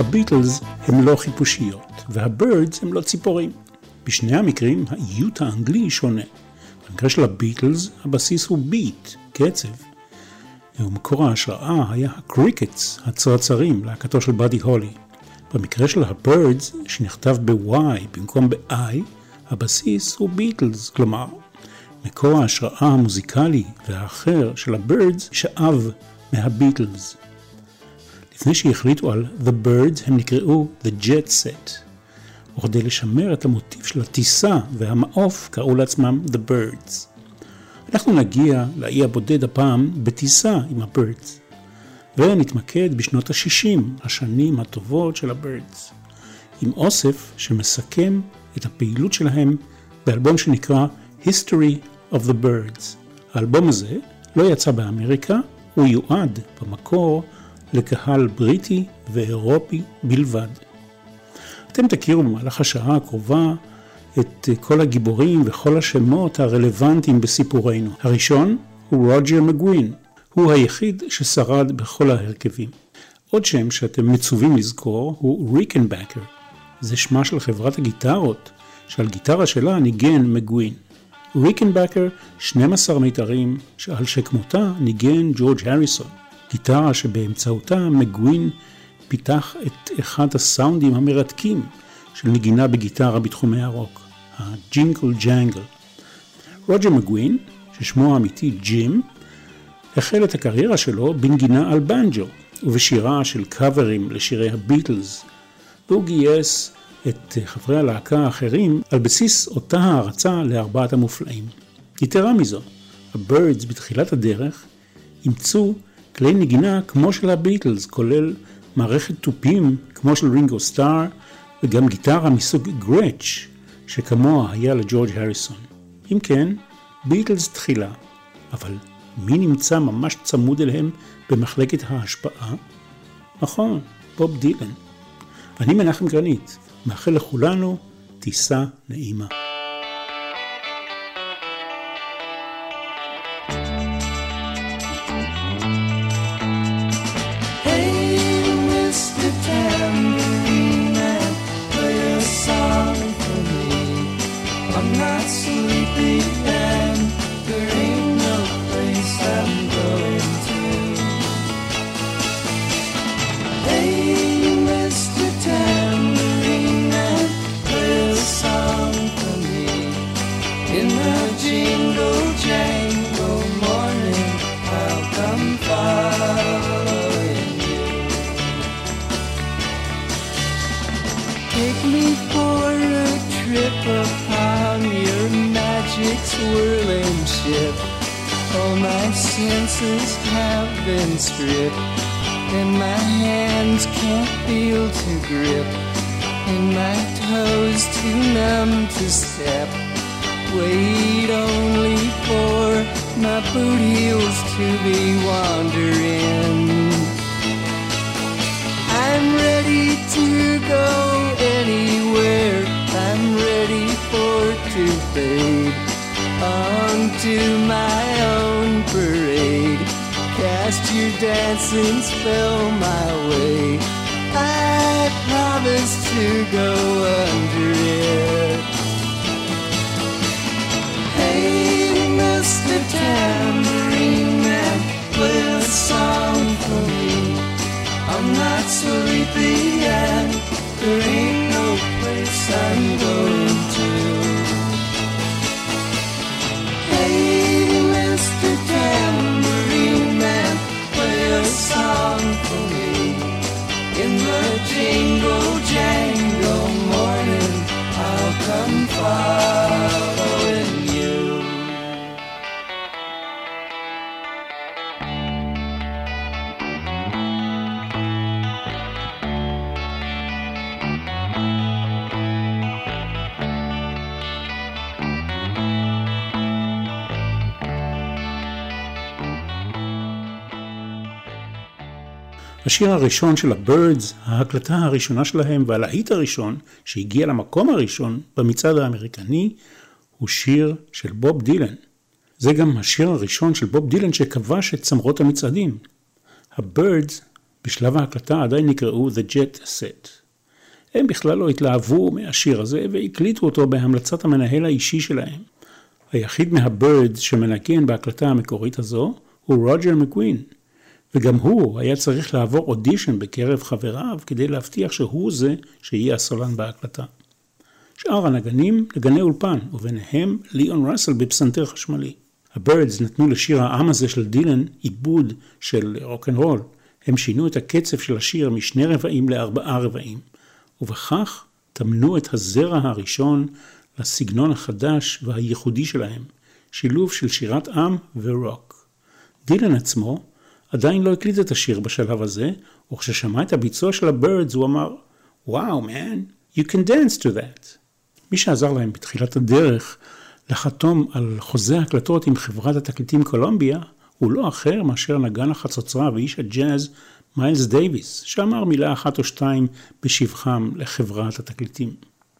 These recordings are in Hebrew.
הביטלס הם לא חיפושיות, והבירדס הם לא ציפורים. בשני המקרים, האיות האנגלי שונה. במקרה של הביטלס, הבסיס הוא ביט, קצב. ומקור ההשראה היה הקריקטס, הצרצרים, להקתו של באדי הולי. במקרה של הבירדס, שנכתב ב-Y במקום ב-I, הבסיס הוא ביטלס, כלומר, מקור ההשראה המוזיקלי והאחר של הבירדס שאב מהביטלס. לפני שהחליטו על The Birds, הם נקראו The Jet Set. וכדי לשמר את המוטיב של הטיסה והמעוף, קראו לעצמם The Birds. אנחנו נגיע לאי הבודד הפעם בטיסה עם הבירדס, ונתמקד בשנות ה-60, השנים הטובות של הבירדס, עם אוסף שמסכם את הפעילות שלהם באלבום שנקרא History of the Birds. האלבום הזה לא יצא באמריקה, הוא יועד במקור לקהל בריטי ואירופי בלבד. אתם תכירו במהלך השעה הקרובה את כל הגיבורים וכל השמות הרלוונטיים בסיפורנו. הראשון הוא רוג'ר מגווין, הוא היחיד ששרד בכל ההרכבים. עוד שם שאתם מצווים לזכור הוא ריקנבקר, זה שמה של חברת הגיטרות, שעל גיטרה שלה ניגן מגווין. ריקנבקר 12 מיתרים שעל שכמותה ניגן ג'ורג' הריסון, גיטרה שבאמצעותה מגווין פיתח את אחד הסאונדים המרתקים של נגינה בגיטרה בתחומי הרוק, הג'ינגל ג'אנגל. רוג'ר מגווין, ששמו האמיתי ג'ים, החל את הקריירה שלו בנגינה על בנג'ו ובשירה של קאברים לשירי הביטלס, והוא גייס את חברי הלהקה האחרים על בסיס אותה הערצה לארבעת המופלאים. יתרה מזו, הבירדס בתחילת הדרך אימצו כלי נגינה כמו של הביטלס, כולל מערכת טופים כמו של רינגו סטאר, וגם גיטרה מסוג גרץ' שכמוה היה לג'ורג' הריסון. אם כן, ביטלס תחילה, אבל מי נמצא ממש צמוד אליהם במחלקת ההשפעה? נכון, בוב דילן. אני מנחם גרנית, מאחל לכולנו טיסה נעימה. Swirling ship, all my senses have been stripped, and my hands can't feel to grip, and my toes too numb to step. Wait only for my boot heels to be wandering. I'm ready to go anywhere, I'm ready for to fade onto my own parade. Cast your dancing spell my way, I promise to go under it. Hey, Mr. Tambourine Man, play a song for me. I'm not sleepy and there ain't no place I'm going to. Mr. Tambourine Man, play a song for me. In the jingle jangle morning, I'll come following you. השיר הראשון של הבירדס, ההקלטה הראשונה שלהם והלהיט הראשון שהגיע למקום הראשון במצעד האמריקני, הוא שיר של בוב דילן. זה גם השיר הראשון של בוב דילן שכבש את צמרות המצעדים. הבירדס בשלב ההקלטה עדיין נקראו The Jet Set. הם בכלל לא התלהבו מהשיר הזה והקליטו אותו בהמלצת המנהל האישי שלהם. היחיד מהבירדס שמנגן בהקלטה המקורית הזו הוא רוג'ר מקווין, וגם הוא היה צריך לעבור אודישן בקרב חבריו כדי להבטיח שהוא זה שיהיה הסולן בהקלטה. שאר הנגנים נגני אולפן, וביניהם ליאון ראסל בפסנתר חשמלי. הבירדס נתנו לשיר העם הזה של דילן עיבוד של רוק'נ'רול. הם שינו את הקצב של השיר משני רבעים לארבעה רבעים, ובכך תמנו את הזרע הראשון לסגנון החדש והייחודי שלהם, שילוב של שירת עם ורוק. דילן עצמו עדיין לא הקליט את השיר בשלב הזה, וכששמע את הביצוע של הבירדס הוא אמר, "Wow, man, you can dance to that." מי שעזר להם בתחילת הדרך לחתום על חוזה הקלטות עם חברת התקליטים קולומביה, הוא לא אחר מאשר נגן החצוצרה ואיש הג'אז מיילס דייביס, שאמר מילה אחת או שתיים בשבחם לחברת התקליטים.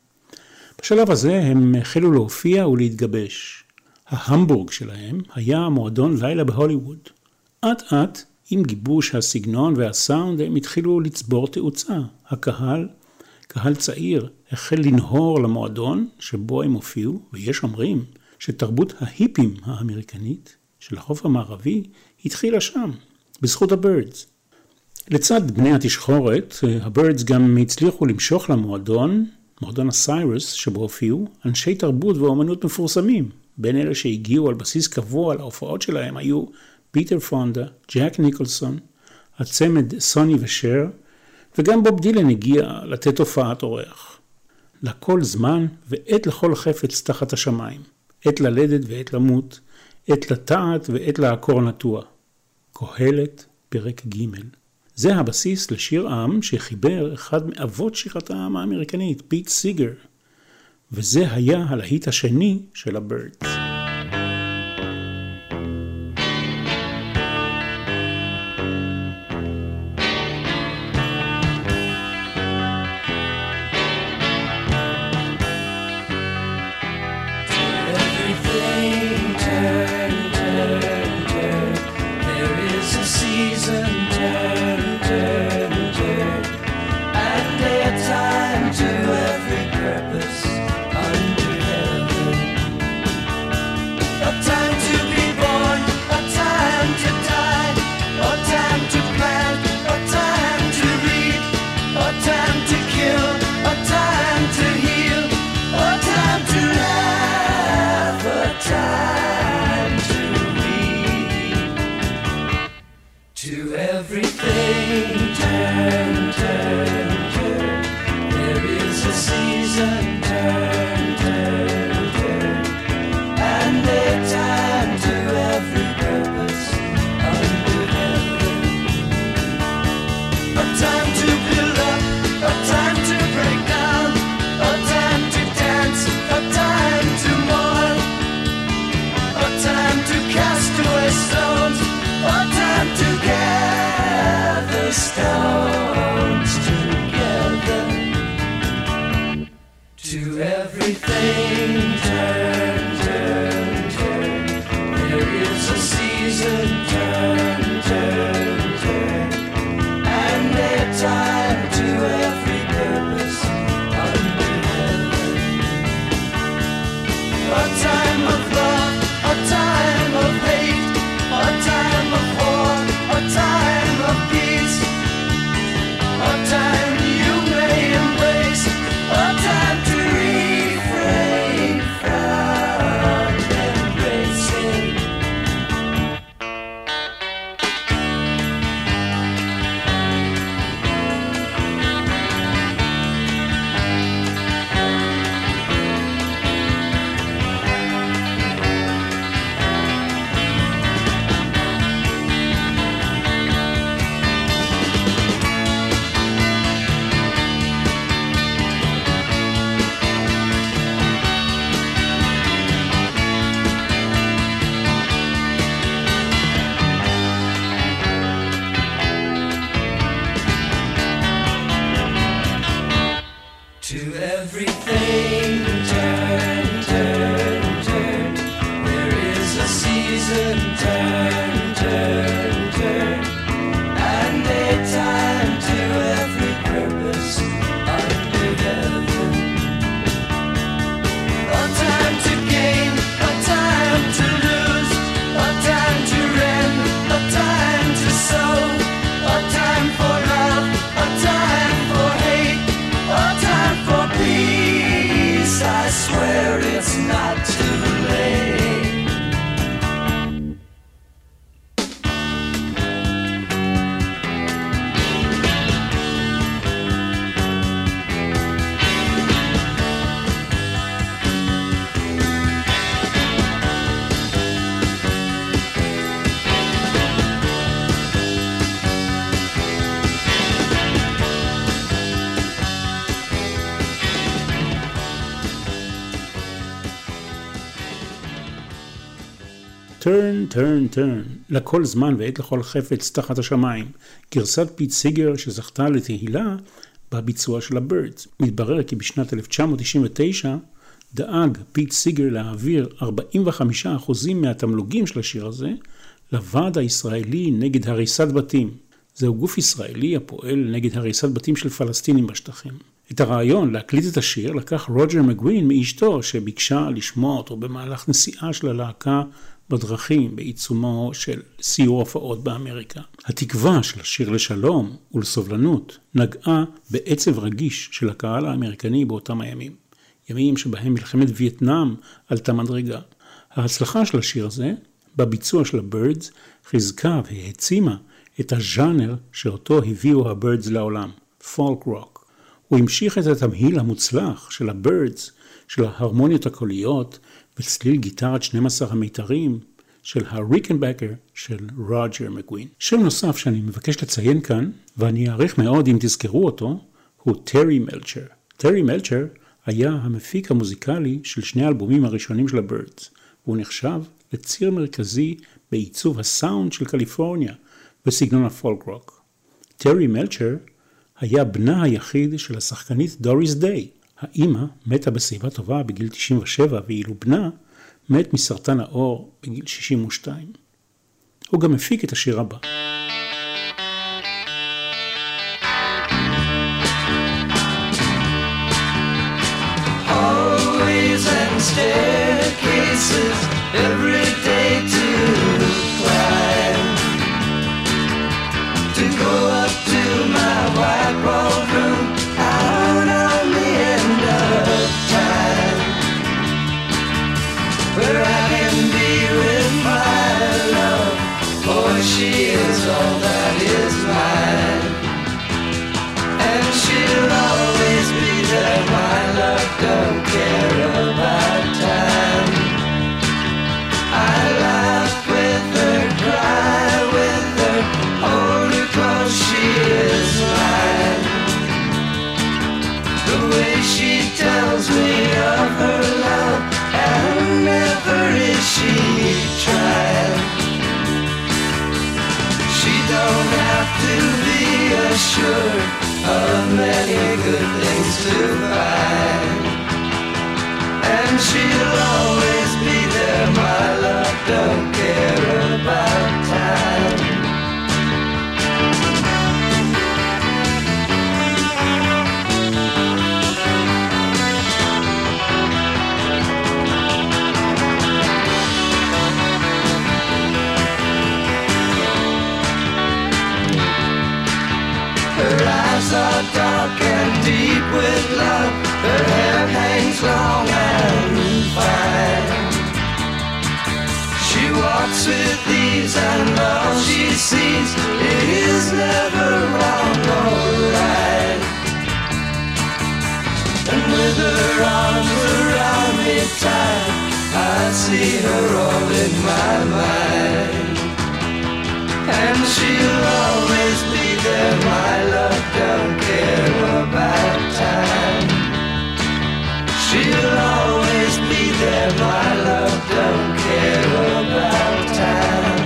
בשלב הזה הם החלו להופיע ולהתגבש. ההמבורג שלהם היה מועדון לילה בהוליווד. עט עט, עם גיבוש הסגנון והסאונד, הם התחילו לצבור תאוצה. הקהל, קהל צעיר, החל לנהור למועדון שבו הם הופיעו, ויש אומרים שתרבות ההיפים האמריקנית של החוף המערבי התחילה שם, בזכות הבירדס. לצד בני התשחורת, הבירדס גם הצליחו למשוך למועדון, מועדון הסיירס שבו הופיעו, אנשי תרבות ואומנות מפורסמים. בין אלה שהגיעו על בסיס קבוע להופעות שלהם היו פיטר פונדה, ג'ק ניקולסון, הצמד סוני ושר, וגם בוב דילן הגיע לתת הופעת אורח. לכל זמן ועת לכל חפץ תחת השמיים, עת ללדת ועת למות, עת לטעת ועת לעקור נטוע. קהלת, פרק ג'. זה הבסיס לשיר עם שחיבר אחד מאבות שירת העם האמריקנית, פיט סיגר, וזה היה הלהיט השני של הבירדס. Time to cast away stones, or time to gather Turn, turn, turn, לכל זמן ועת לכל חפץ תחת השמיים, גרסת פיט סיגר שזכתה לתהילה בביצוע של הבירדס. מתברר כי בשנת 1999 דאג פיט סיגר להעביר 45% מהתמלוגים של השיר הזה לוועד הישראלי נגד הריסת בתים. זהו גוף ישראלי הפועל נגד הריסת בתים של פלסטינים בשטחים. את הרעיון להקליט את השיר לקח רוג'ר מגווין מאשתו שביקשה לשמוע אותו במהלך נסיעה של הלהקה בדרכים בעיצומו של סיור הופעות באמריקה. התקווה של השיר לשלום ולסובלנות נגעה בעצב רגיש של הקהל האמריקני באותם הימים. ימים שבהם מלחמת וייטנאם עלתה מדרגה. ההצלחה של השיר הזה בביצוע של הבירדס חיזקה והעצימה את הז'אנר שאותו הביאו הבירדס לעולם, פולק רוק. הוא המשיך את התמהיל המוצלח של הבירדס, של ההרמוניות הקוליות וצליל גיטרת 12 המיתרים של הריקנבקר של רוג'ר מגווין. שם נוסף שאני מבקש לציין כאן, ואני אעריך מאוד אם תזכרו אותו, הוא טרי מלצ'ר. טרי מלצ'ר היה המפיק המוזיקלי של שני האלבומים הראשונים של הבירדס, והוא נחשב לציר מרכזי בעיצוב הסאונד של קליפורניה בסגנון הפולק רוק. טרי מלצ'ר היה בנה היחיד של השחקנית דוריס דיי. האמא מתה בשיבה טובה בגיל 97, ואילו בנה מת מסרטן העור בגיל 62. הוא גם הפיק את השיר הבא. Hallways and staircases every day to climb, to go up to my white walled room out on the end of time, where I can be with my love, for she is all that is mine, and she'll always be there. My love don't care about time. I laugh with her, cry with her, hold her close, she is mine. The way she tells me of her love, and never is she trying. She don't have to be assured of many good things to find, and she'll always be there. My love don't care about time. Her eyes are dark and deep with love, her hair hangs long and fine. She walks with ease and all she sees is never wrong or right. And with her arms around me tight, I see her all in my mind. And she'll always be there, my love don't care about time. She'll always be there, my love don't care about time.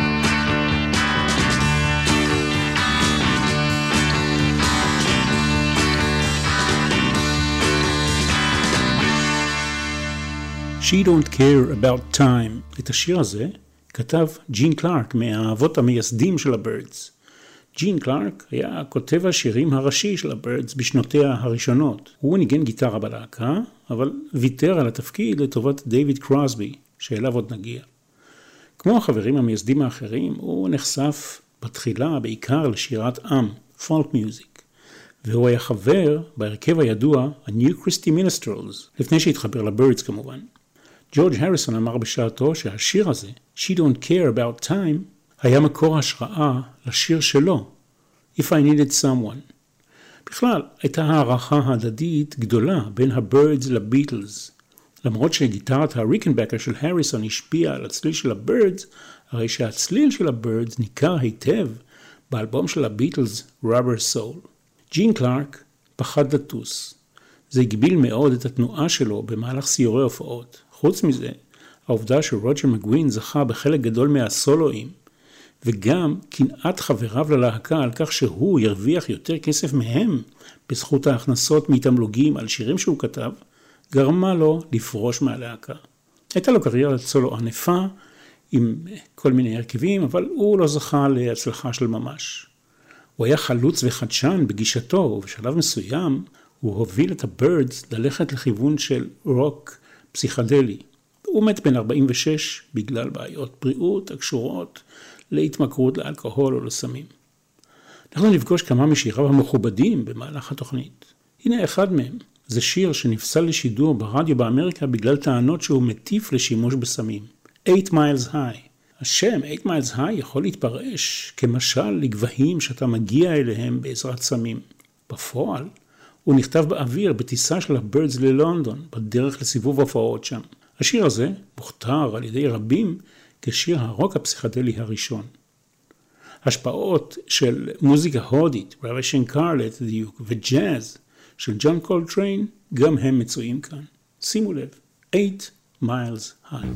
She Don't Care About Time. את השיר הזה כתב ג'ין קלארק מהאבות המייסדים של הבירדס. ג'ין קלארק היה כותב השירים הראשי של הבירדס בשנותיה הראשונות. הוא ניגן גיטרה בלהקה, אבל ויתר על התפקיד לטובת דיוויד קרוסבי, שאליו עוד נגיע. כמו החברים המייסדים האחרים, הוא נחשף בתחילה בעיקר לשירת עם, פולק מיוזיק, והוא היה חבר בהרכב הידוע ה-New Christy Minstrels, לפני שהתחבר לבירדס כמובן. ג'ורג' הריסון אמר בשעתו שהשיר הזה, She Don't Care About Time, היה מקור השראה לשיר שלו, If I Needed Someone. בכלל, הייתה הערכה הדדית גדולה בין הבירדס לביטלס. למרות שגיטרת הריקנבקר של הריסון השפיעה על הצליל של הבירדס, הרי שהצליל של הבירדס ניכר היטב באלבום של הביטלס, Rubber Soul. ג'ין קלארק פחד לטוס. זה הגביל מאוד את התנועה שלו במהלך סיורי הופעות. חוץ מזה, העובדה שרוג'ר מגווין זכה בחלק גדול מהסולואים, וגם קנאת חבריו ללהקה על כך שהוא ירוויח יותר כסף מהם בזכות ההכנסות מתמלוגים על שירים שהוא כתב, גרמה לו לפרוש מהלהקה. הייתה לו קריירת סולו ענפה עם כל מיני הרכבים, אבל הוא לא זכה להצלחה של ממש. הוא היה חלוץ וחדשן בגישתו, ובשלב מסוים הוא הוביל את הבירדס ללכת לכיוון של רוק פסיכדלי. הוא מת בן 46 בגלל בעיות בריאות הקשורות להתמכרות לאלכוהול או לסמים. אנחנו נפגוש כמה משיריו המכובדים במהלך התוכנית. הנה אחד מהם. זה שיר שנפסל לשידור ברדיו באמריקה בגלל טענות שהוא מטיף לשימוש בסמים. 8 Miles High. השם 8 Miles High יכול להתפרש כמשל לגבהים שאתה מגיע אליהם בעזרת סמים. בפועל, הוא נכתב באוויר בטיסה של הבירדס ללונדון, בדרך לסיבוב הופעות שם. השיר הזה מוכתר על ידי רבים כשיר הרוק הפסיכדלי הראשון. השפעות של מוזיקה הודית, רבי קרלט דיוק, וג'אז של ג'ון קולטריין, גם הם מצויים כאן. שימו לב, 8 Miles High.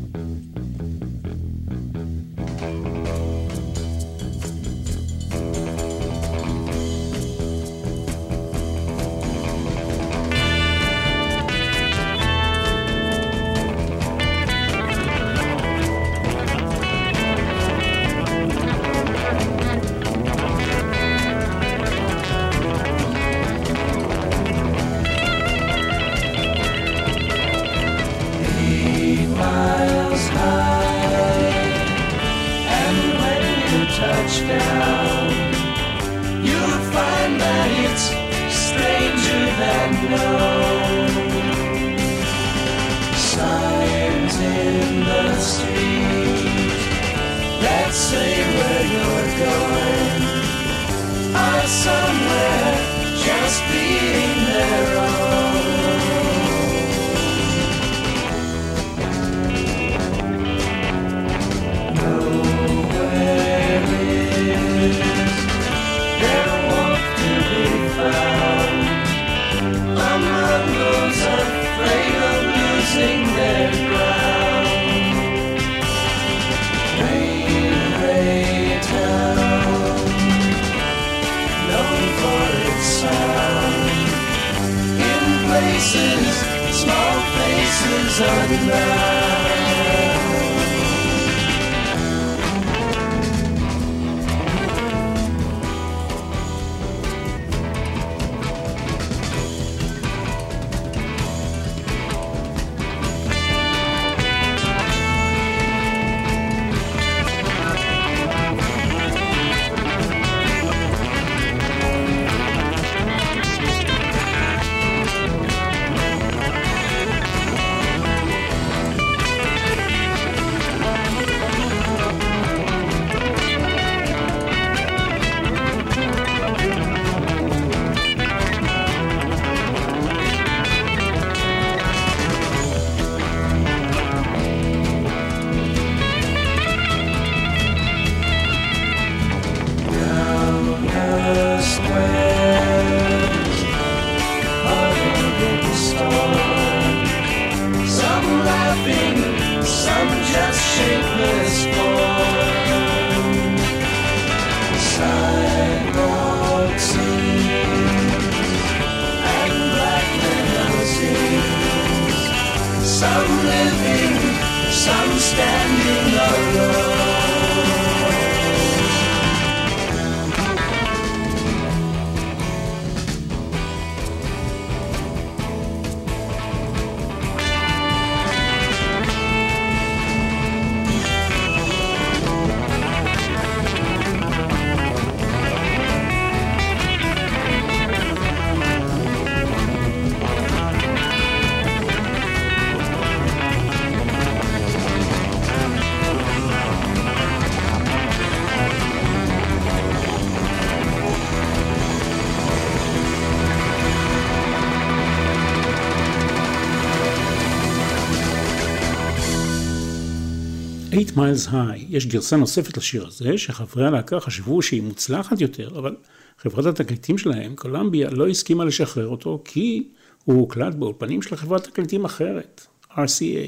Miles High. יש גרסה נוספת לשיר הזה, שחברי הלהקה חשבו שהיא מוצלחת יותר, אבל חברת התקליטים שלהם, קולומביה, לא הסכימה לשחרר אותו, כי הוא הוקלט באולפנים של חברת תקליטים אחרת, RCA.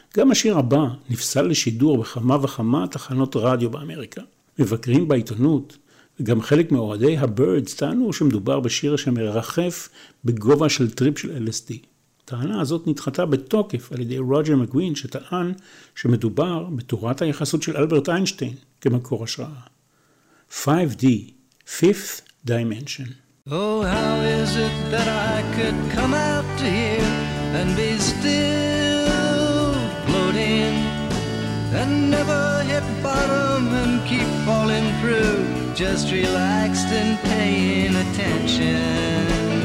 גם השיר הבא נפסל לשידור בכמה וכמה תחנות רדיו באמריקה. מבקרים בעיתונות וגם חלק מאוהדי הבירדס טענו שמדובר בשיר שמרחף בגובה של טריפ של LSD. הטענה הזאת נדחתה בתוקף על ידי רוג'ר מקווין, שטען שמדובר בתורת היחסות של אלברט איינשטיין כמקור השראה. 5D, Fifth Dimension. Oh, how is it that I could come out to here and be still floating and never hit bottom and keep falling through, just relaxed and paying attention?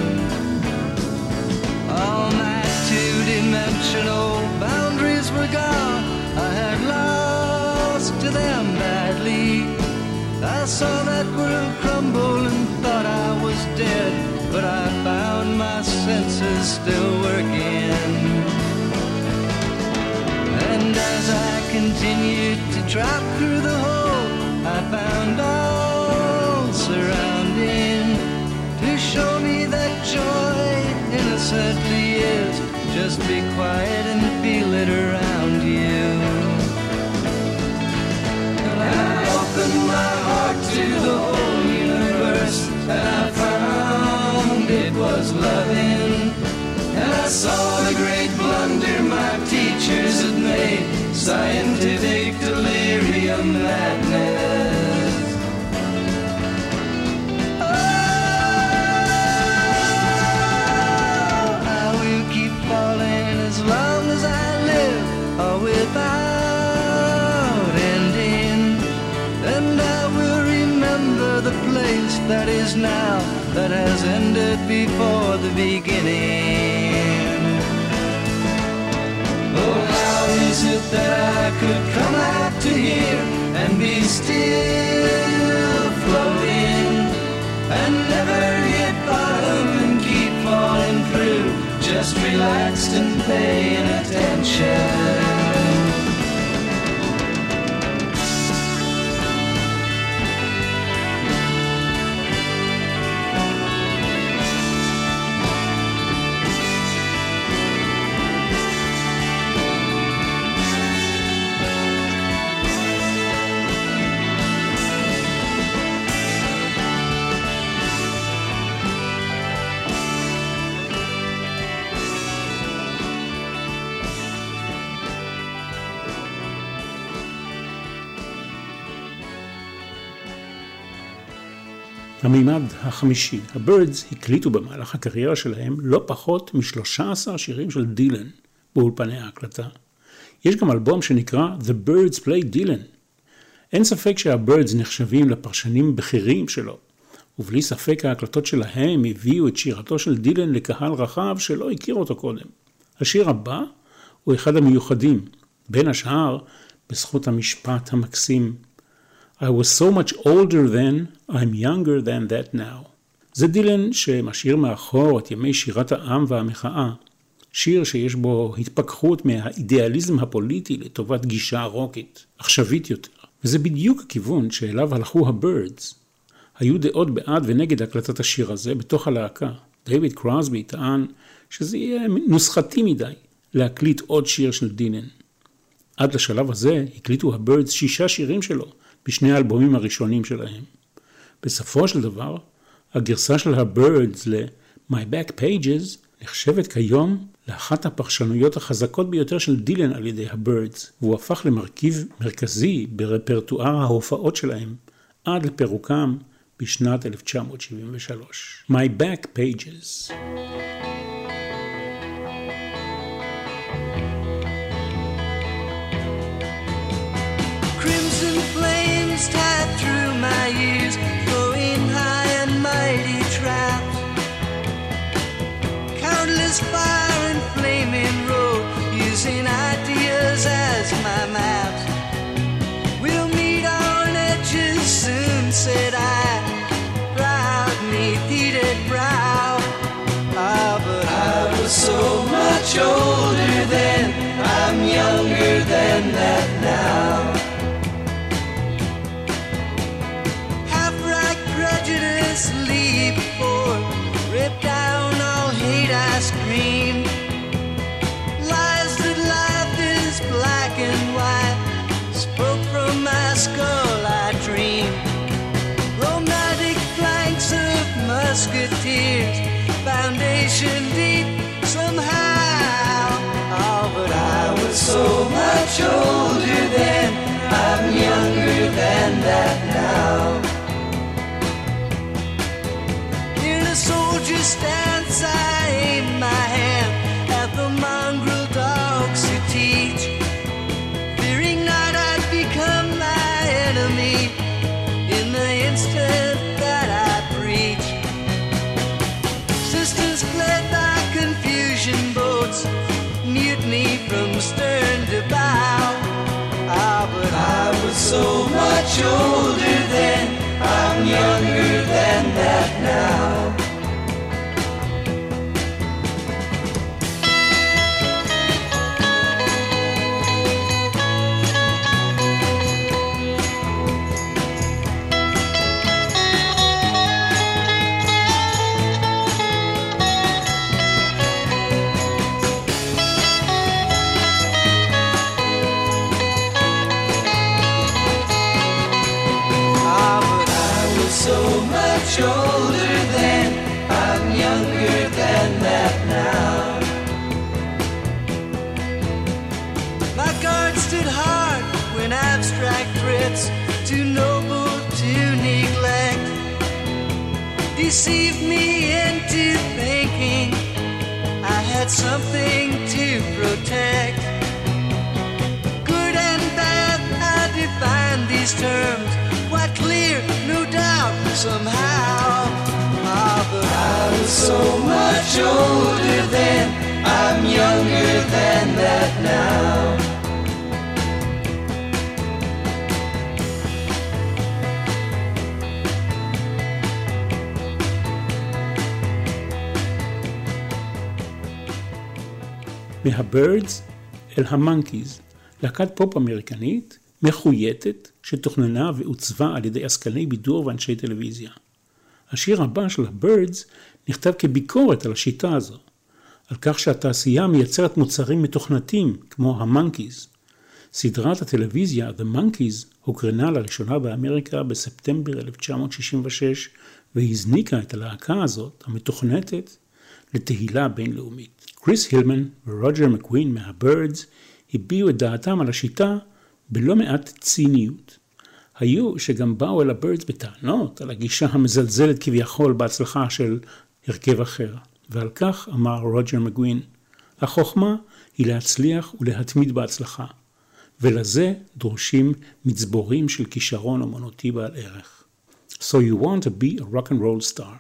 All my two-dimensional boundaries were gone. I had lost to them badly. I saw that world crumble and thought I was dead, but I found my senses still working. And as I continued to drop through the hole, I found all surrounding to show me that joy innocently is. Just be quiet and feel it around you. And I opened my heart to the whole universe, and I found it was loving. And I saw the great blunder my teachers had made, scientific delirium madness. Oh, I will keep falling as long as I live, or without ending. And I will remember the place that is now, that has ended before the beginning. Oh, how is it that I could come out to here and be still floating and never hit bottom and keep falling through, just relaxed and paying attention? המימד החמישי, הבירדס הקליטו במהלך הקריירה שלהם לא פחות מ-13 שירים של דילן באולפני ההקלטה. יש גם אלבום שנקרא The Birds Play Dylan. אין ספק שהבירדס נחשבים לפרשנים בכירים שלו, ובלי ספק ההקלטות שלהם הביאו את שירתו של דילן לקהל רחב שלא הכיר אותו קודם. השיר הבא הוא אחד המיוחדים, בין השאר בזכות המשפט המקסים I was so much older then, I'm younger than that now. זה דילן שמשאיר מאחור את ימי שירת העם והמחאה, שיר שיש בו התפכחות מהאידיאליזם הפוליטי לטובת גישה רוקית, עכשווית יותר. וזה בדיוק הכיוון שאליו הלכו הבירדס. היו דעות בעד ונגד הקלטת השיר הזה בתוך הלהקה. דייוויד קרוסבי טען שזה יהיה נוסחתי מדי להקליט עוד שיר של דילן. עד לשלב הזה הקליטו הבירדס 6 שירים שלו, בשני האלבומים הראשונים שלהם. בסופו של דבר, הגרסה של הבירדס ל-My Back Pages נחשבת כיום לאחת הפרשנויות החזקות ביותר של דילן על ידי הבירדס, והוא הפך למרכיב מרכזי ברפרטואר ההופעות שלהם עד לפירוקם בשנת 1973. My Back Pages. Tied through my years, going high and mighty trapped. Countless fire and flaming road, using ideas as my maps. We'll meet on edges soon, said I, proud neath heated brow. Ah, but I was so much older then, I'm younger than that now. Leap forward, rip down all hate I scream. Lies that life is blind. musketeers, foundation deep somehow. Oh, but I was so much older then, I'm younger than that now. In a soldier's stance I aim my hand at the mongrel dogs who teach, fearing not I'd become my enemy in the instant that I preach. Sisters fled by confusion boats, mutiny from stern to bow. Ah, but I was so much older then, I'm younger than that now. Older then, I'm younger than that now. My guard stood hard when abstract threats, too noble to neglect, deceived me into thinking I had something to protect. Good and bad, I define these terms, quite clear, no doubt, somehow. Ah, but I was so much older then, I'm younger than that now. מהבירדס אל המונקיז, להקת פופ אמריקנית מחויטת שתוכננה ועוצבה על ידי עסקני בידור ואנשי טלוויזיה. השיר הבא של הבירדס נכתב כביקורת על השיטה הזו, על כך שהתעשייה מייצרת מוצרים מתוכנתים כמו המונקיז. סדרת הטלוויזיה The Monkees הוקרנה לראשונה באמריקה בספטמבר 1966 והזניקה את הלהקה הזאת המתוכנתת לתהילה בינלאומית. קריס הילמן ורוג'ר מקווין מהבירדס הביעו את דעתם על השיטה בלא מעט ציניות. היו שגם באו אל הבירדס בטענות על הגישה המזלזלת כביכול בהצלחה של הרכב אחר. ועל כך אמר רוג'ר מקווין, החוכמה היא להצליח ולהתמיד בהצלחה, ולזה דורשים מצבורים של כישרון אומנותי בעל ערך. So you want to be a rock and roll star.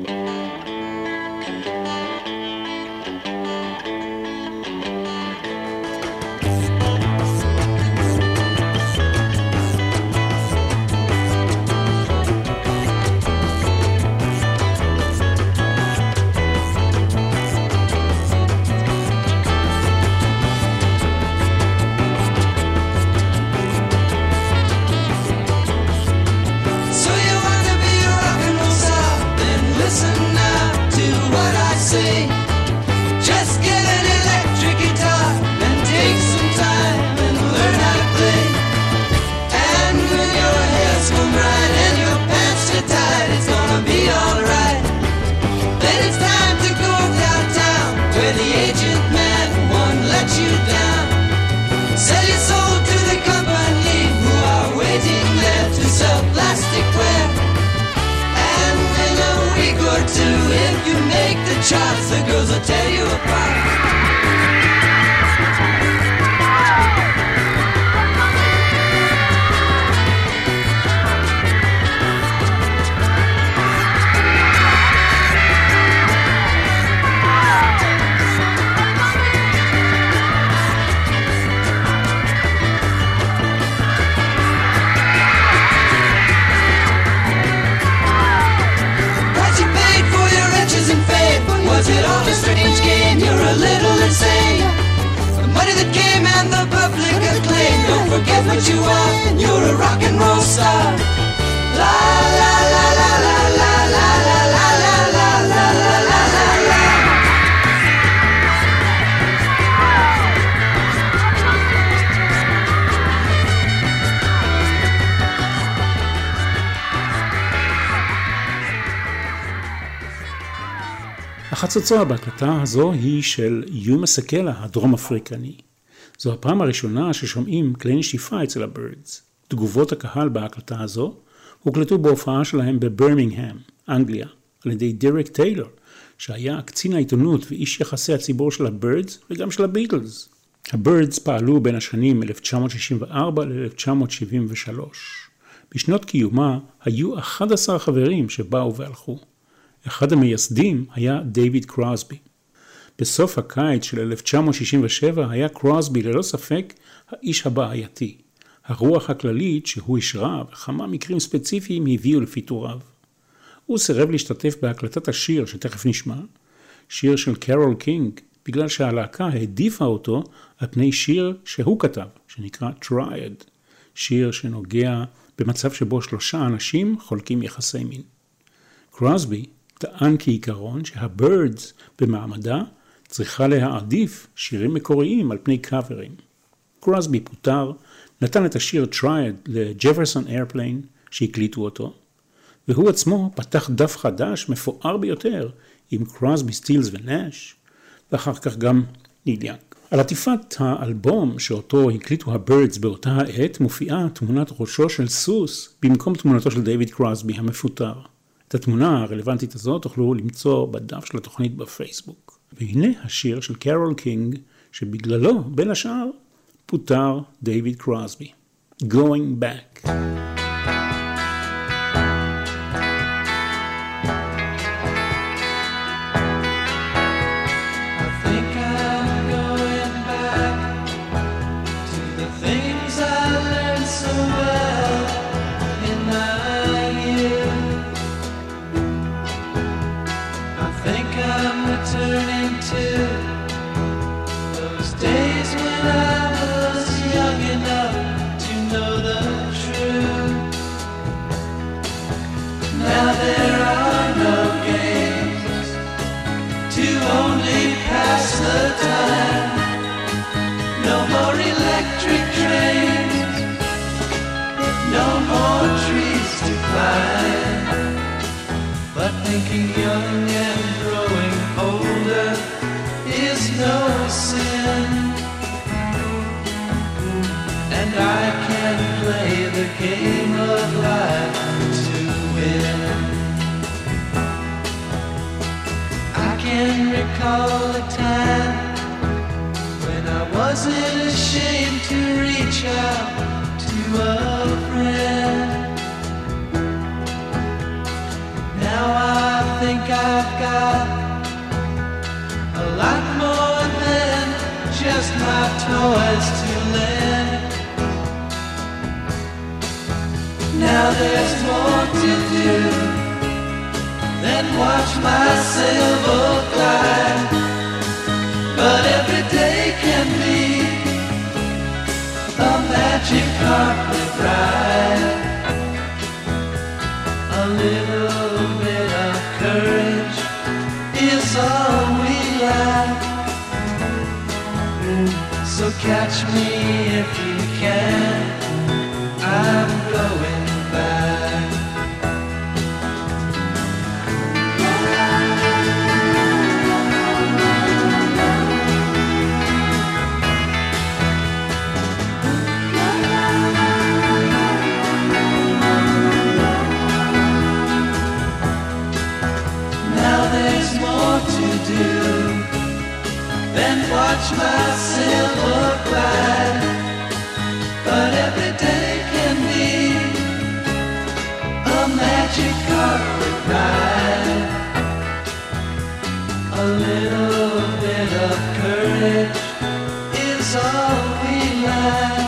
Charts, the girls will tear you apart. Was it all a strange game? You're a little insane. The money that came and the public acclaim. Don't forget what you are. You're a rock and roll star. La la la la la la la la la la la la la la la. החצוצרה בהקלטה הזו היא של יומה סקלה, הדרום אפריקני. זו הפעם הראשונה ששומעים כלי נשיפה אצל הבירדס. תגובות הקהל בהקלטה הזו הוקלטו בהופעה שלהם בברמינגהם, אנגליה, על ידי דרק טיילור, שהיה קצין העיתונות ואיש יחסי הציבור של הבירדס וגם של הביטלס. הבירדס פעלו בין השנים 1964 ל-1973. בשנות קיומה היו 11 חברים שבאו והלכו. אחד המייסדים היה דיוויד קרוסבי. בסוף הקיץ של 1967 היה קרוסבי ללא ספק האיש הבעייתי. הרוח הכללית שהוא השרה וכמה מקרים ספציפיים הביאו לפיטוריו. הוא סירב להשתתף בהקלטת השיר שתכף נשמע, שיר של קרול קינג, בגלל שהלהקה העדיפה אותו על פני שיר שהוא כתב, שנקרא Triad, שיר שנוגע במצב שבו 3 אנשים חולקים יחסי מין. קרוסבי טען כעיקרון שהבירדס במעמדה צריכה להעדיף שירים מקוריים על פני קאברים. קרוסבי פוטר, נתן את השיר Triad לג'פרסון איירפליין שהקליטו אותו, והוא עצמו פתח דף חדש מפואר ביותר עם קרוסבי, סטילס ונאש, ואחר כך גם ניל יאנג. על עטיפת האלבום שאותו הקליטו הבירדס באותה העת מופיעה תמונת ראשו של סוס במקום תמונתו של דיוויד קרוסבי המפוטר. את התמונה הרלוונטית הזאת תוכלו למצוא בדף של התוכנית בפייסבוק. והנה השיר של קרול קינג שבגללו בין השאר פוטר דיוויד קרוסבי. Going Back. But thinking young and growing older is no sin, and I can play the game of life to win. I can recall a time when I wasn't ashamed to reach out to a friend. Now I think I've got a lot more than just my toys to lend. Now there's more to do than watch my sailboat glide, but every day can be a magic carpet ride. A little bit of courage is all we lack, so catch me if you can, I'm going back. Then watch my sailboat ride, but every day can be a magic carpet ride. A little bit of courage is all we lack,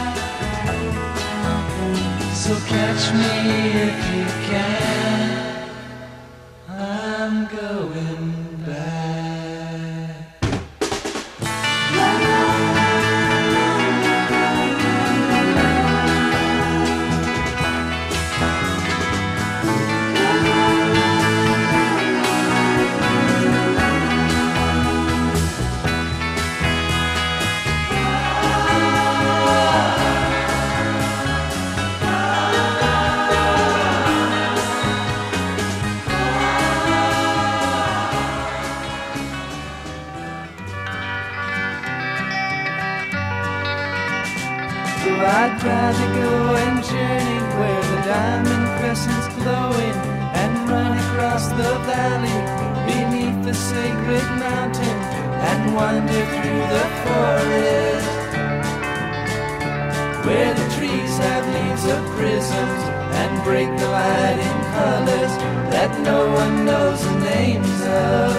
so catch me if you can, I'm going back. try to go and journey where the diamond crescent's glowing and run across the valley beneath the sacred mountain and wander through the forest where the trees have leaves of prisms and break the light in colors that no one knows the names of.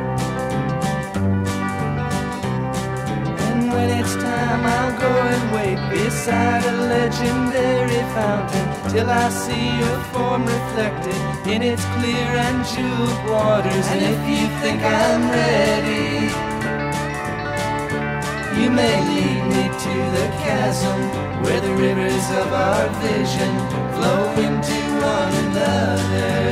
And when it's time, I'll go and wait beside a legendary fountain till I see your form reflected in its clear and jeweled waters. And if you think I'm ready, you may lead me to the chasm where the rivers of our vision flow into one another.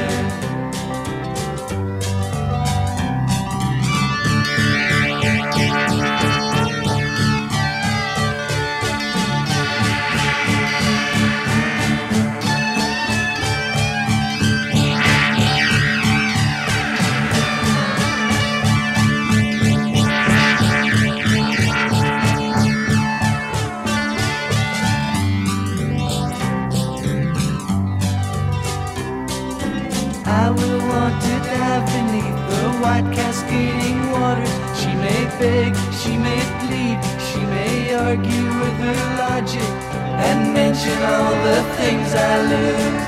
White cascading waters. She may beg, she may plead, she may argue with her logic and mention all the things I lose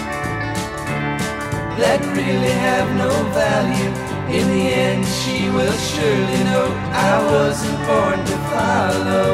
that really have no value. In the end she will surely know I wasn't born to follow.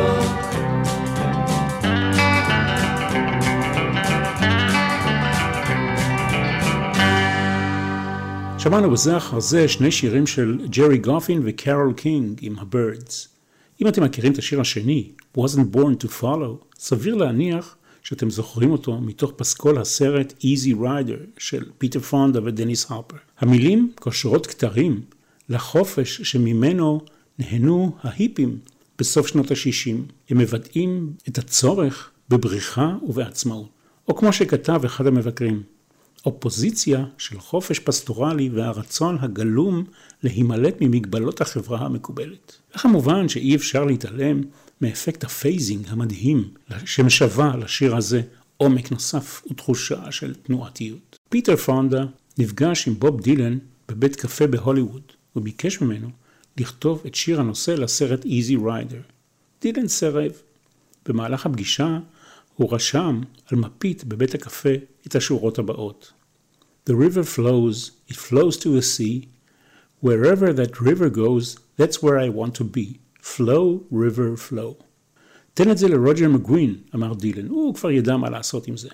שמענו בזה אחר זה שני שירים של ג'רי גופין וקרול קינג עם ה-Birds. אם אתם מכירים את השיר השני, Wasn't Born to Follow, סביר להניח שאתם זוכרים אותו מתוך פסקול הסרט Easy Rider של פיטר פונדה ודניס הרפר. המילים קושרות כתרים לחופש שממנו נהנו ההיפים בסוף שנות ה-60. הם מבטאים את הצורך בבריחה ובעצמאות. או כמו שכתב אחד המבקרים, אופוזיציה של חופש פסטורלי והרצון הגלום להימלט ממגבלות החברה המקובלת. וכמובן שאי אפשר להתעלם מאפקט הפייזינג המדהים שמשווה לשיר הזה עומק נוסף ותחושה של תנועתיות. פיטר פונדה נפגש עם בוב דילן בבית קפה בהוליווד וביקש ממנו לכתוב את שיר הנושא לסרט Easy Rider. דילן סירב. במהלך הפגישה הוא רשם על מפית בבית הקפה את השורות הבאות. The river flows, it flows to the sea. Wherever that river goes, that's where I want to be. Flow, river, flow. תן את זה לרוג'ר מגווין, אמר דילן. הוא כבר ידע מה לעשות עם זה.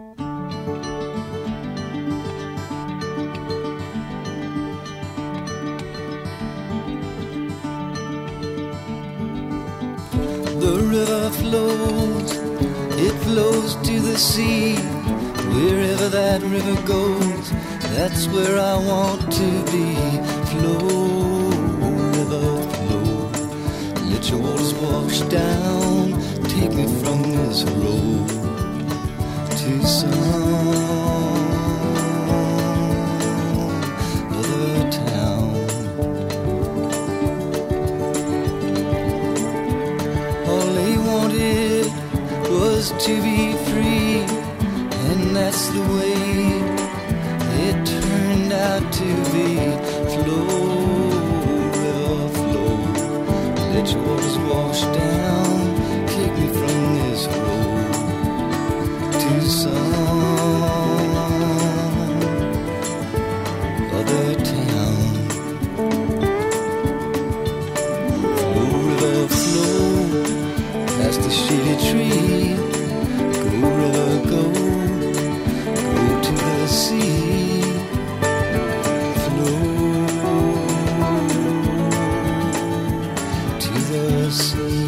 The river flows, it flows to the sea. Wherever that river goes, that's where I want to be. Flow, river, flow. Let your waters wash down. Take me from this road to some other town. All they wanted was to be free. And that's the way it turned out to be. Flow, river, flow. Let your waters wash down. Take me from this road to some other town. Flow, river, flow. Past the shady tree. Go, river, go. Sea, flow to the sea.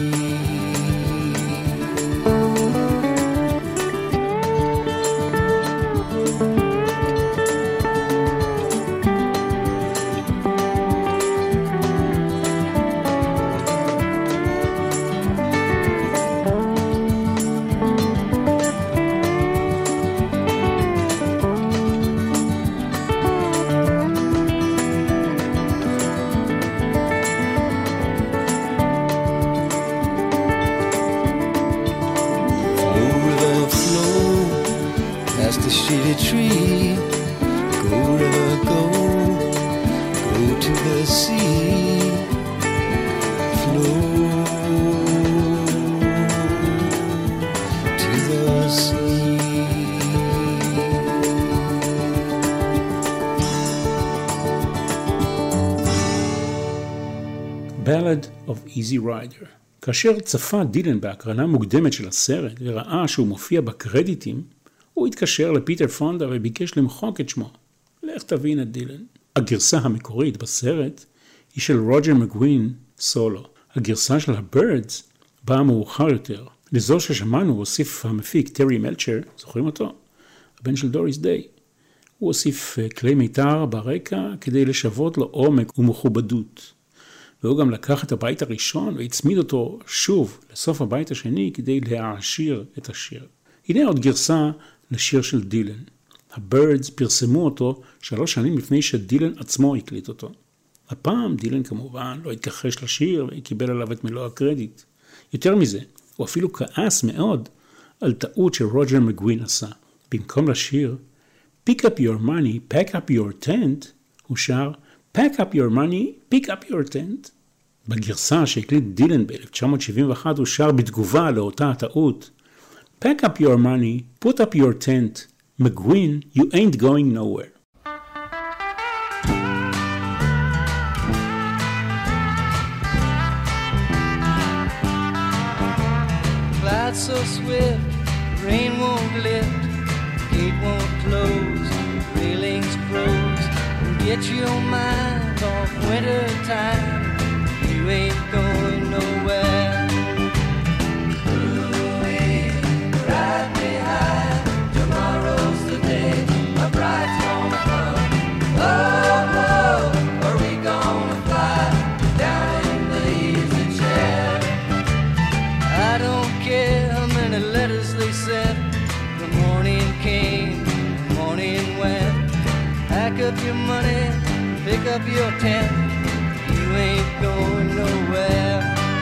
the sea, flow to the sea. Ballad of Easy Rider. כאשר צפה דילן בהקרנה מוקדמת של הסרט וראה שהוא מופיע בקרדיטים, הוא התקשר לפיטר פונדה וביקש למחוק את שמו. לך תבין את דילן. הגרסה המקורית בסרט היא של רוג'ר מגווין סולו. הגרסה של הבירדס באה מאוחר יותר. לזו ששמענו הוסיף המפיק טרי מלצ'ר, זוכרים אותו? הבן של דוריס דיי. הוא הוסיף כלי מיתר ברקע כדי לשוות לו עומק ומכובדות. והוא גם לקח את הבית הראשון והצמיד אותו שוב לסוף הבית השני כדי להעשיר את השיר. הנה עוד גרסה לשיר של דילן. הבירדס פרסמו אותו 3 שנים לפני שדילן עצמו הקליט אותו. הפעם דילן כמובן לא התכחש לשיר וקיבל עליו את מלוא הקרדיט. יותר מזה, הוא אפילו כעס מאוד על טעות שרוג'ר מגווין עשה. במקום לשיר Pick up your money, pack up your tent, הוא שר Pack up your money, pick up your tent. בגרסה שהקליט דילן ב-1971 הוא שר בתגובה לאותה הטעות Pack up your money, put up your tent, McGuinn, you ain't going nowhere. Clouds so swift, rain won't lift, gate won't close, railings froze. Get your mind off winter time, you ain't going nowhere. Ooh-wee, ride me high, tomorrow's the day, my bride's gonna come. Oh, oh, are we gonna fly down in the easy chair? I don't care how many letters they sent, the morning came, the morning went. Pack up your money, pick up your tent, you ain't going nowhere.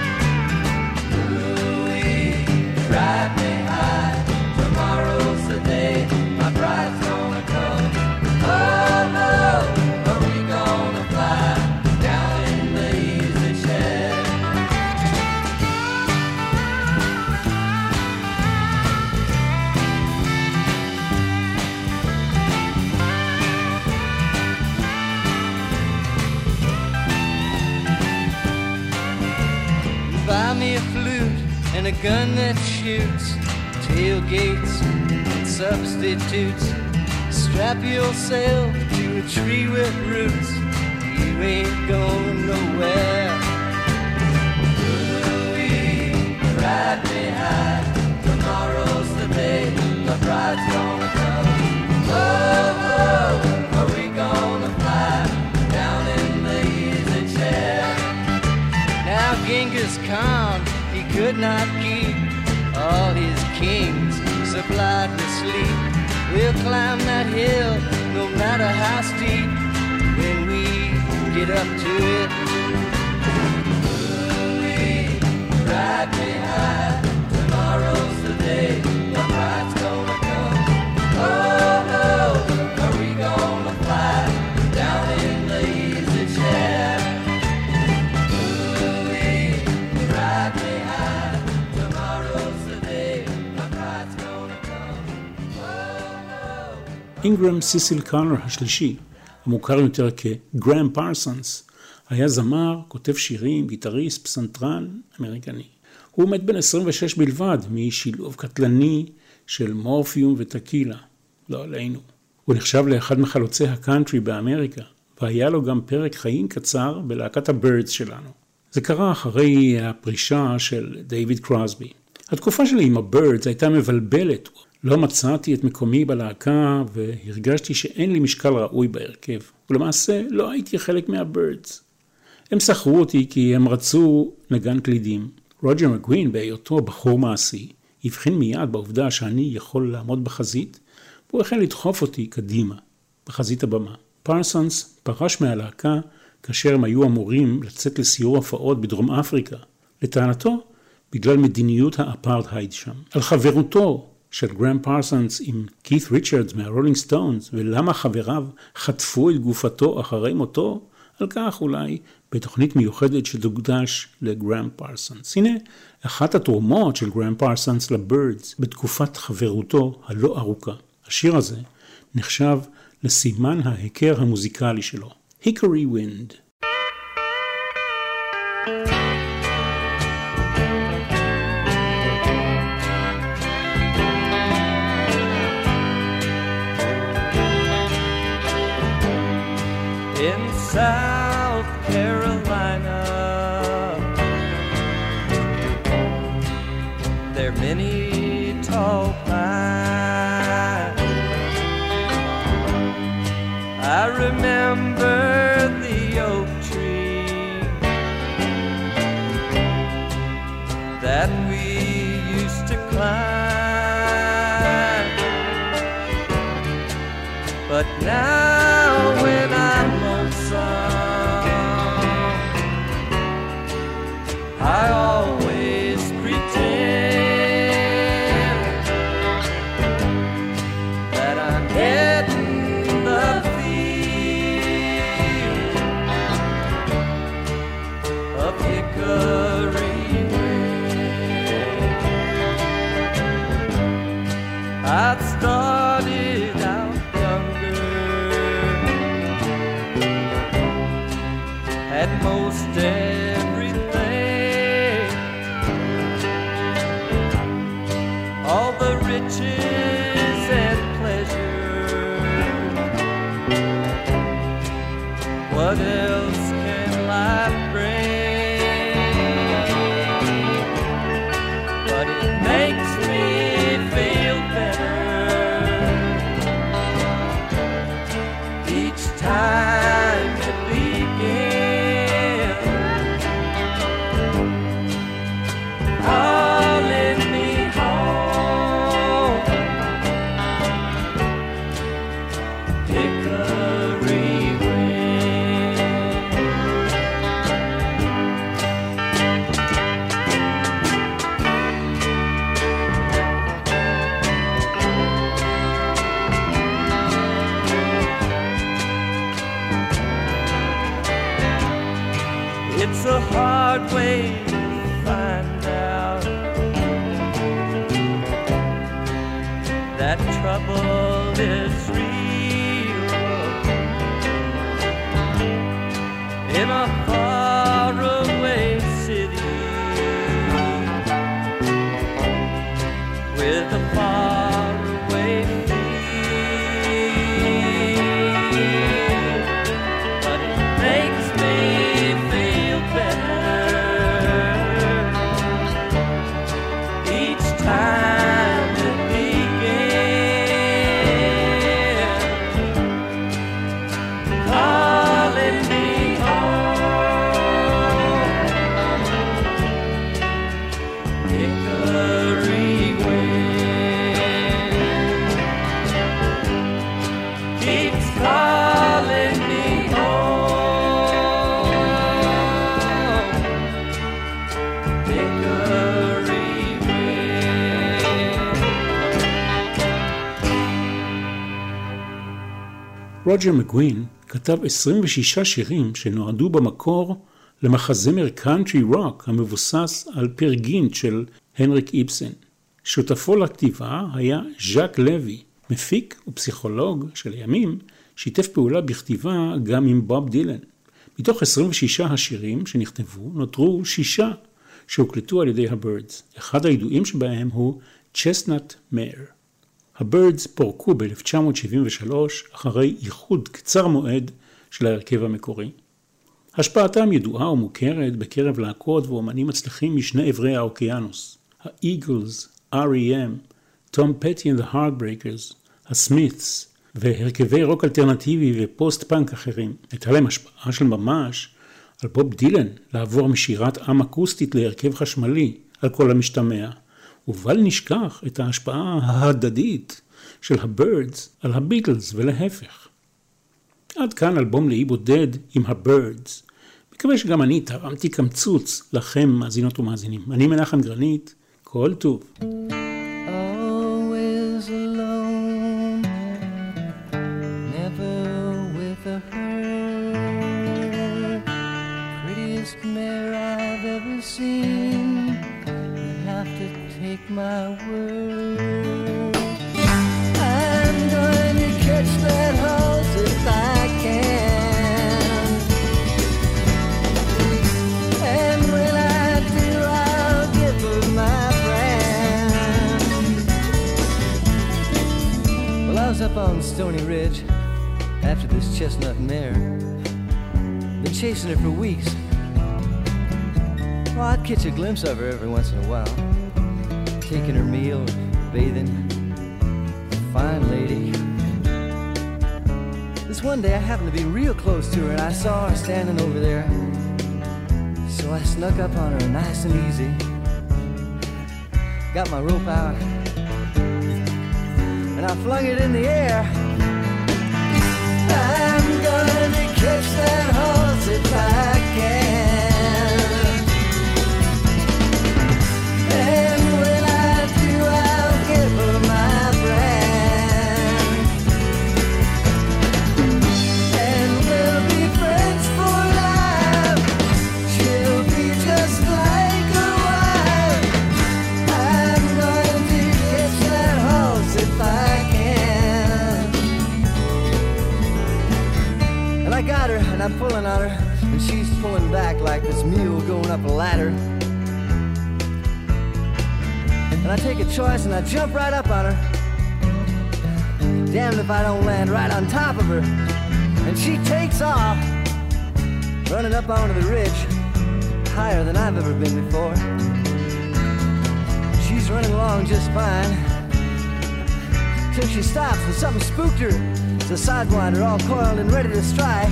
Ooh-wee, ride me high, tomorrow's the day, my bride's gonna come. Oh, oh, are we gonna fly down in the easy chair? Buy me a flute and a gun that shoots, tailgates and substitutes. Strap yourself to a tree with roots, you ain't going nowhere. Ooh-wee, ride me high, tomorrow's the day, the bride's gonna come. Oh, oh, are we gonna fly down in the easy chair? Now Genghis Khan, he could not keep all his kings supplied with sleep. We'll climb that hill no matter how steep when we get up to it. Ooh-wee, ride me high, tomorrow's the day, the bride's gonna come. Oh, oh, are we gonna fly down in the easy chair? אינגרם סיסיל קארנר השלישי, המוכר יותר כגרם פרסונס, היה זמר, כותב שירים, גיטריסט, פסנתרן אמריקני. הוא מת בן 26 בלבד משילוב קטלני של מורפיום וטקילה, לא עלינו. הוא נחשב לאחד מחלוצי הקאנטרי באמריקה, והיה לו גם פרק חיים קצר בלהקת הבירדס שלנו. זה קרה אחרי הפרישה של דיוויד קרוסבי. התקופה שלי עם הבירדס הייתה מבלבלת. לא מצאתי את מקומי בלהקה והרגשתי שאין לי משקל ראוי בהרכב. ולמעשה לא הייתי חלק מהבירדס. הם שכרו אותי כי הם רצו נגן קלידים. רוג'ר מגווין בהיותו בחור מעשי הבחין מיד בעובדה שאני יכול לעמוד בחזית, והוא החל לדחוף אותי קדימה, בחזית הבמה. פרסונס פרש מהלהקה כאשר הם היו אמורים לצאת לסיור הופעות בדרום אפריקה. לטענתו, בגלל מדיניות האפרטהייד שם. על חברותו של גרם פרסונס עם כית ריצ'רדס מהרולינג סטונס, ולמה חבריו חטפו את גופתו אחרי מותו, על כך אולי בתוכנית מיוחדת שתוקדש לגרם פרסונס. הנה אחת התרומות של גרם פרסונס לבירדס בתקופת חברותו הלא ארוכה. השיר הזה נחשב לסימן ההיכר המוזיקלי שלו. Hickory Wind. In South Carolina, there are many tall pines. I remember the oak tree that we used to climb. But now when I'm I always pretend that I'm getting the feel of hickory wind. I'd started out younger, had most everything, all the riches and pleasure. What else can life bring? But it makes me feel better each time it begins, calling me home. Hickory wind. It's a hard way to find out that trouble is real in a faraway city with a faraway feel. But it makes me feel better each time it begins, calling me home. Hickory wind keeps calling me home. Hickory wind. רוג'ר מקווין כתב 26 שירים שנועדו במקור למחזמר קאנטרי רוק המבוסס על פיר גינט של הנריק איבסן. שותפו לכתיבה היה ז'אק לוי, מפיק ופסיכולוג שלימים שיתף פעולה בכתיבה גם עם בוב דילן. מתוך 26 השירים שנכתבו נותרו 6 שהוקלטו על ידי הבירדס. אחד הידועים שבהם הוא צ'סנט מאיר. הבירדס פורקו ב-1973 אחרי איחוד קצר מועד של ההרכב המקורי. השפעתם ידועה ומוכרת בקרב להקות ואומנים מצליחים משני עברי האוקיינוס. האיגלס, R.E.M., תום פטי and the Heartbreakers, הסמית'ס והרכבי רוק אלטרנטיבי ופוסט פאנק אחרים. הייתה להם השפעה של ממש על בוב דילן לעבור משירת עם אקוסטית להרכב חשמלי על כל המשתמע. ובל נשכח את ההשפעה ההדדית של הבירדס על הביטלס ולהפך. עד כאן אלבום לאי בודד עם הבירדס. מקווה שגם אני תרמתי קמצוץ לכם מאזינות ומאזינים. אני מנחם גרנית, כל טוב. Always alone, never with a hurt. Stony Ridge after this chestnut mare. Been chasing her for weeks. Well, I'd catch a glimpse of her every once in a while, taking her meal, bathing. Fine lady. This one day I happened to be real close to her and I saw her standing over there. So I snuck up on her nice and easy. Got my rope out and I flung it in the air. I'm gonna catch that horse if I can. And when I do, I'll give her my brand. And we'll be friends for life. She'll be just like a wife. I'm going to catch that horse if I can. And I got her, and I'm pulling on her, and she's pulling back like this mule going up a ladder. And I take a choice and I jump right up on her. Damned if I don't land right on top of her. And she takes off, running up onto the ridge, higher than I've ever been before. She's running along just fine, till she stops and something spooked her. It's a sidewinder all coiled and ready to strike.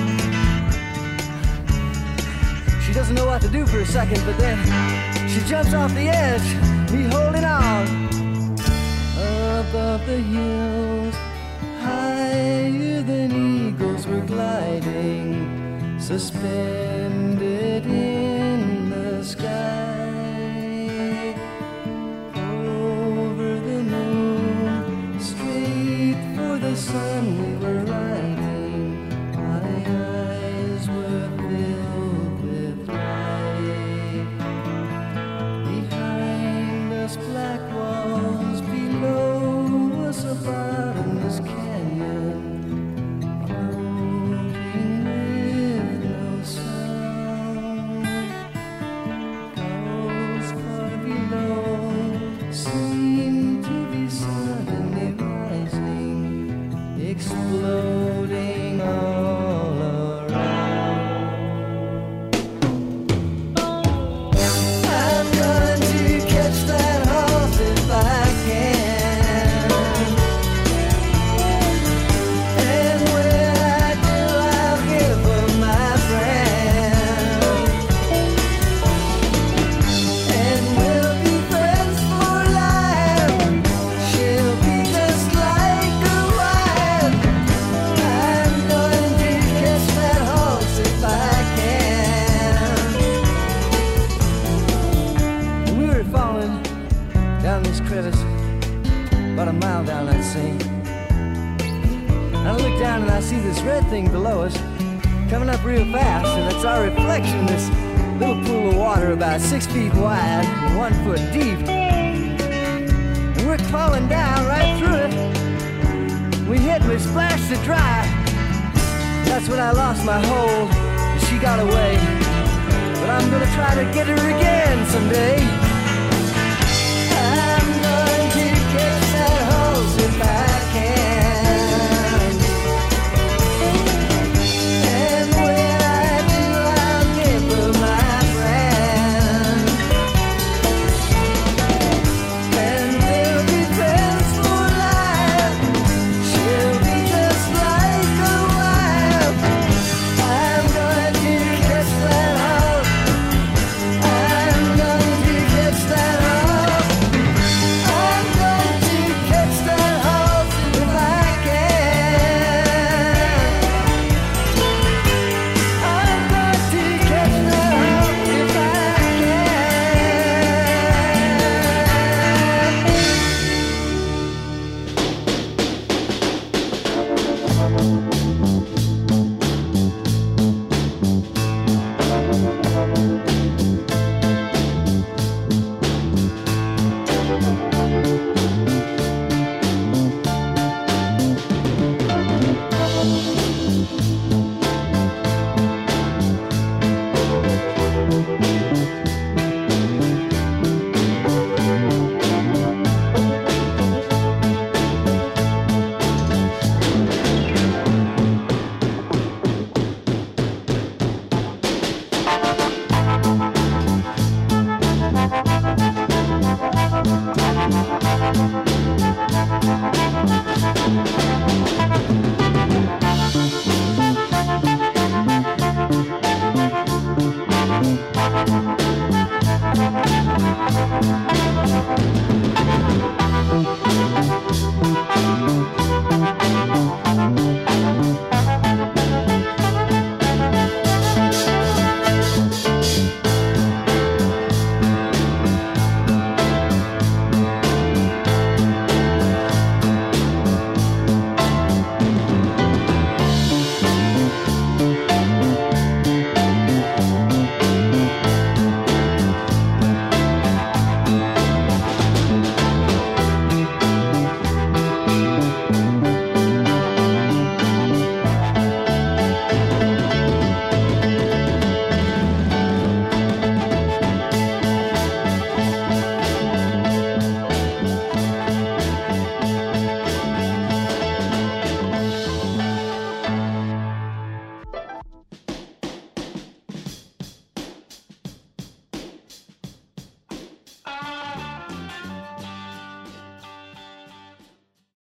She doesn't know what to do for a second, but then she jumps off the edge, me holding on. Above the hills, higher than eagles we're gliding, suspended in the sky. Over the moon, straight for the sun we were riding. My eyes were filled with light. Behind us black walls, below us a bottomless canyon, floating with no sound. Clouds far below seem to be suddenly rising, exploding all around. I'm going to catch that horse if I can. And when I do, I'll give her my brand. And we'll be friends for life. She'll be just like a wife. I'm going to catch that horse if I can. We were falling down this crevice, about a mile down that sink. And I look down and I see this red thing below us, coming up real fast, and it's our reflection, this little pool of water about 6 feet wide and 1 foot deep. And we're falling down right through it. We hit and we splashed it dry. That's when I lost my hold and she got away. But I'm gonna try to get her again someday.